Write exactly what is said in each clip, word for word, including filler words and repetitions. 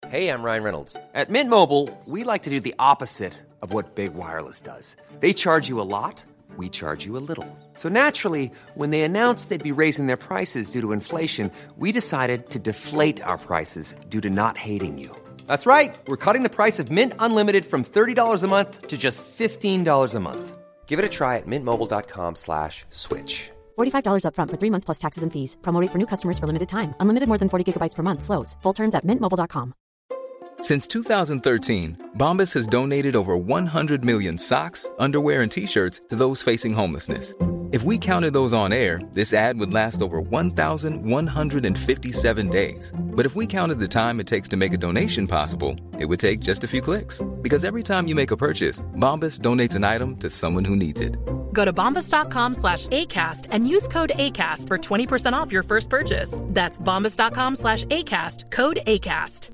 Hey, I'm Ryan Reynolds. At Mint Mobile, we like to do the opposite of what Big Wireless does. They charge you a lot, we charge you a little. So naturally, when they announced they'd be raising their prices due to inflation, we decided to deflate our prices due to not hating you. That's right. We're cutting the price of Mint Unlimited from thirty dollars a month to just fifteen dollars a month. Give it a try at mintmobile.com slash switch. forty-five dollars up front for three months plus taxes and fees. Promo rate for new customers for limited time. Unlimited more than forty gigabytes per month slows. Full terms at mint mobile dot com. Since two thousand thirteen, Bombas has donated over one hundred million socks, underwear, and T-shirts to those facing homelessness. If we counted those on air, this ad would last over one thousand one hundred fifty-seven days. But if we counted the time it takes to make a donation possible, it would take just a few clicks. Because every time you make a purchase, Bombas donates an item to someone who needs it. Go to bombas.com slash ACAST and use code ACAST for twenty percent off your first purchase. That's bombas.com slash ACAST, code ACAST.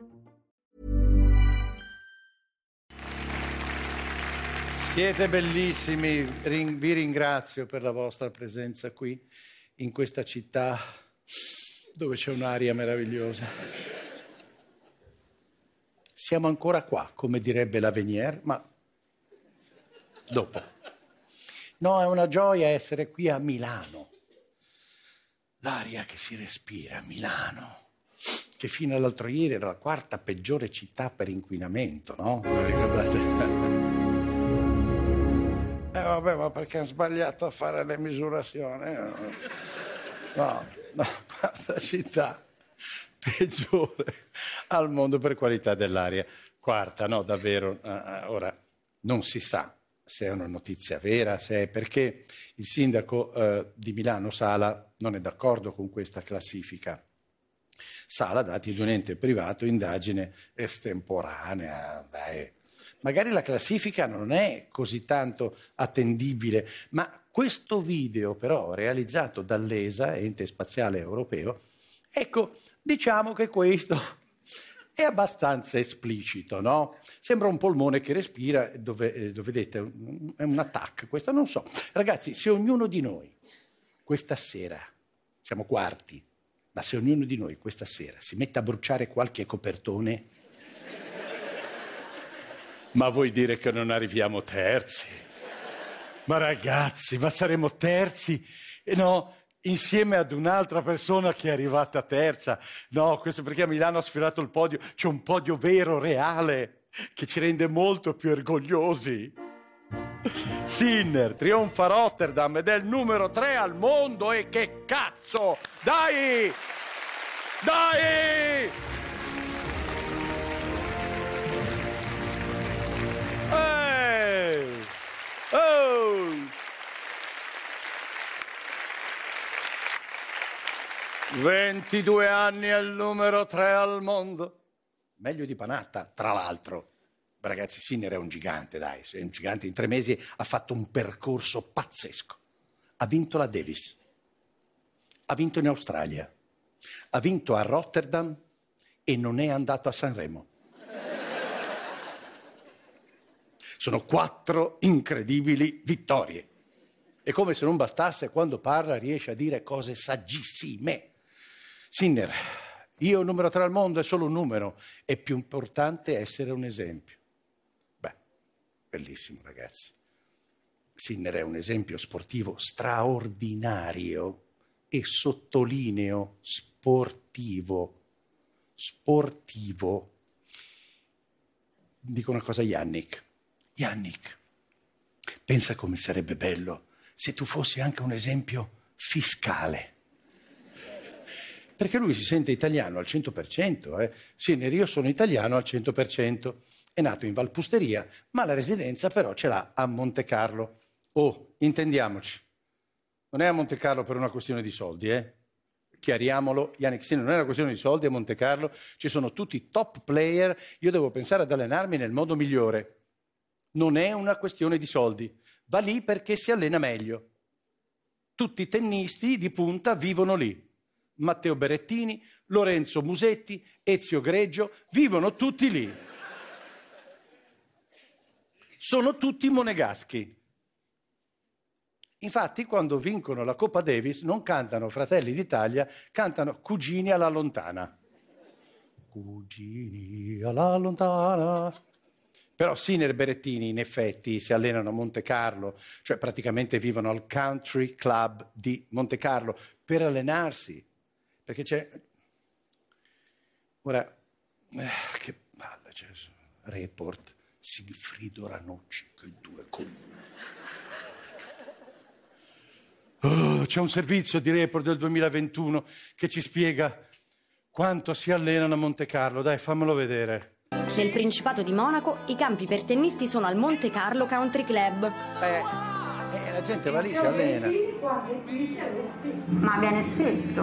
Siete bellissimi, Ring- vi ringrazio per la vostra presenza qui, in questa città dove c'è un'aria meravigliosa. Siamo ancora qua, come direbbe Lavenier, ma dopo. No, è una gioia essere qui a Milano. L'aria che si respira a Milano, che fino all'altro ieri era la quarta peggiore città per inquinamento, no? Lo ricordate? Eh vabbè, ma perché hanno sbagliato a fare le misurazioni? No, no, quarta città peggiore al mondo per qualità dell'aria. Quarta, no, davvero. Uh, ora, non si sa se è una notizia vera, se è perché il sindaco uh, di Milano, Sala, non è d'accordo con questa classifica. Sala, dati di un ente privato, indagine estemporanea, dai. Magari la classifica non è così tanto attendibile, ma questo video però realizzato dall'E S A, Ente Spaziale Europeo, ecco, diciamo che questo è abbastanza esplicito, no? Sembra un polmone che respira, dove, dove vedete, è un attack, questo non so. Ragazzi, se ognuno di noi questa sera, siamo quarti, ma se ognuno di noi questa sera si mette a bruciare qualche copertone, ma vuoi dire che non arriviamo terzi? Ma ragazzi, ma saremo terzi? E no, insieme ad un'altra persona che è arrivata terza. No, questo perché a Milano ha sfiorato il podio. C'è un podio vero, reale, che ci rende molto più orgogliosi. Sinner trionfa a Rotterdam ed è il numero tre al mondo. E che cazzo! Dai! Dai! Hey! Oh! ventidue anni è il numero tre al mondo. Meglio di Panatta, tra l'altro. Ragazzi, Sinner è un gigante, dai. È un gigante. In tre mesi ha fatto un percorso pazzesco. Ha vinto la Davis. Ha vinto in Australia. Ha vinto a Rotterdam e non è andato a Sanremo. Sono quattro incredibili vittorie. E come se non bastasse, quando parla riesce a dire cose saggissime. Sinner, io numero tre al mondo è solo un numero, è più importante essere un esempio. Beh, bellissimo ragazzi. Sinner è un esempio sportivo straordinario e sottolineo sportivo. Sportivo. Dico una cosa a Yannick. Yannick, pensa come sarebbe bello se tu fossi anche un esempio fiscale. Perché lui si sente italiano al cento per cento. Eh? Sinner, io sono italiano al cento per cento. È nato in Valpusteria, ma la residenza però ce l'ha a Montecarlo. Oh, intendiamoci. Non è a Montecarlo per una questione di soldi, eh? Chiariamolo, Yannick Sinner, non è una questione di soldi a Montecarlo. Ci sono tutti top player. Io devo pensare ad allenarmi nel modo migliore. Non è una questione di soldi, va lì perché si allena meglio. Tutti i tennisti di punta vivono lì. Matteo Berrettini, Lorenzo Musetti, Ezio Greggio, vivono tutti lì. Sono tutti monegaschi. Infatti, quando vincono la Coppa Davis non cantano Fratelli d'Italia, cantano Cugini alla lontana. cugini alla lontana. Però Sinner e Berrettini in effetti si allenano a Monte Carlo, cioè praticamente vivono al Country Club di Monte Carlo per allenarsi, perché c'è... Ora, eh, che palle, c'è Report, Sigfrido Ranucci, che due con... Oh, c'è un servizio di Report del duemilaventuno che ci spiega quanto si allenano a Monte Carlo. Dai, fammelo vedere. Nel Principato di Monaco i campi per tennisti sono al Monte Carlo Country Club. Eh, eh, la gente va lì, si allena. Ma viene spesso?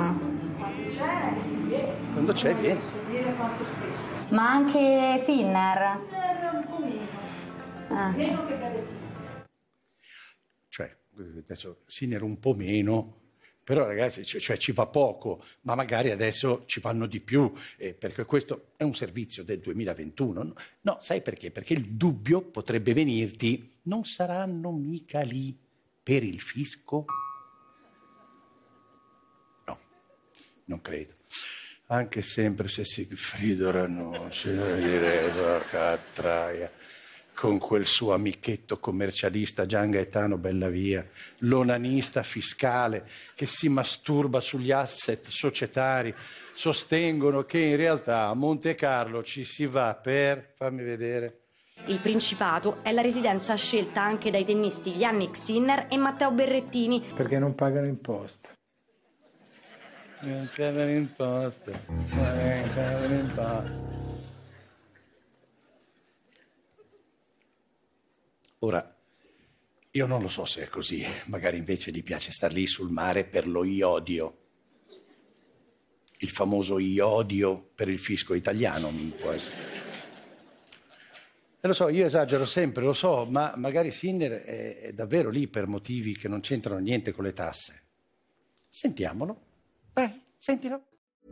Quando c'è, viene. Ma anche Sinner? Un po' meno. Ah. Meno che Berrettini. Cioè, adesso Sinner un po' meno, però ragazzi, cioè, cioè ci va poco, ma magari adesso ci vanno di più, eh, perché questo è un servizio del duemilaventuno. No, no, sai perché? Perché il dubbio potrebbe venirti, non saranno mica lì per il fisco? No, non credo. Anche sempre se Sigfrido Ranucci, Catraia, con quel suo amichetto commercialista Gian Gaetano Bellavia, l'onanista fiscale che si masturba sugli asset societari, sostengono che in realtà a Monte Carlo ci si va per, fammi vedere... Il Principato è la residenza scelta anche dai tennisti Jannik Sinner e Matteo Berrettini. Perché non pagano imposte. Non pagano imposte, non pagano imposte. Ora, io non lo so se è così, magari invece gli piace star lì sul mare per lo iodio. Il famoso iodio per il fisco italiano, può essere. E lo so, io esagero sempre, lo so, ma magari Sinner è, è davvero lì per motivi che non c'entrano niente con le tasse. Sentiamolo. Vai, sentilo.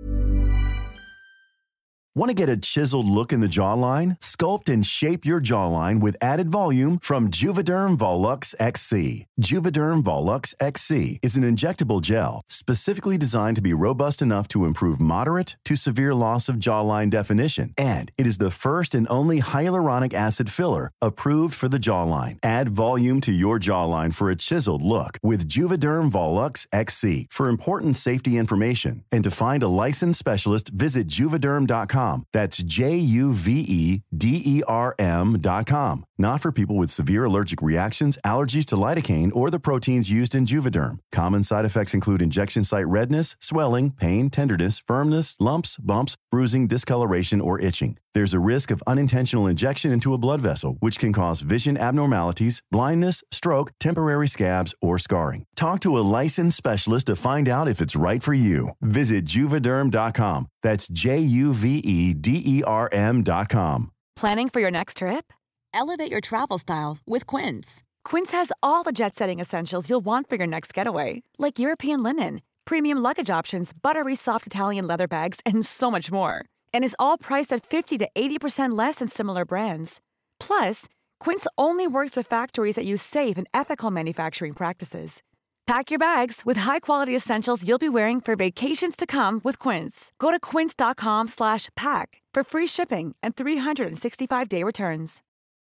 Want to get a chiseled look in the jawline? Sculpt and shape your jawline with added volume from Juvederm Volux X C. Juvederm Volux X C is an injectable gel specifically designed to be robust enough to improve moderate to severe loss of jawline definition. And it is the first and only hyaluronic acid filler approved for the jawline. Add volume to your jawline for a chiseled look with Juvederm Volux X C. For important safety information and to find a licensed specialist, visit juvederm dot com. That's J U V E D E R M dot com. Not for people with severe allergic reactions, allergies to lidocaine, or the proteins used in Juvederm. Common side effects include injection site redness, swelling, pain, tenderness, firmness, lumps, bumps, bruising, discoloration, or itching. There's a risk of unintentional injection into a blood vessel, which can cause vision abnormalities, blindness, stroke, temporary scabs, or scarring. Talk to a licensed specialist to find out if it's right for you. Visit Juvederm dot com. That's J U V E D E R M dot com. Planning for your next trip? Elevate your travel style with Quince. Quince has all the jet-setting essentials you'll want for your next getaway, like European linen, premium luggage options, buttery soft Italian leather bags, and so much more. And is all priced at fifty to eighty percent less than similar brands. Plus, Quince only works with factories that use safe and ethical manufacturing practices. Pack your bags with high-quality essentials you'll be wearing for vacations to come with Quince. Go to quince dot com slash pack for free shipping and three sixty-five day returns.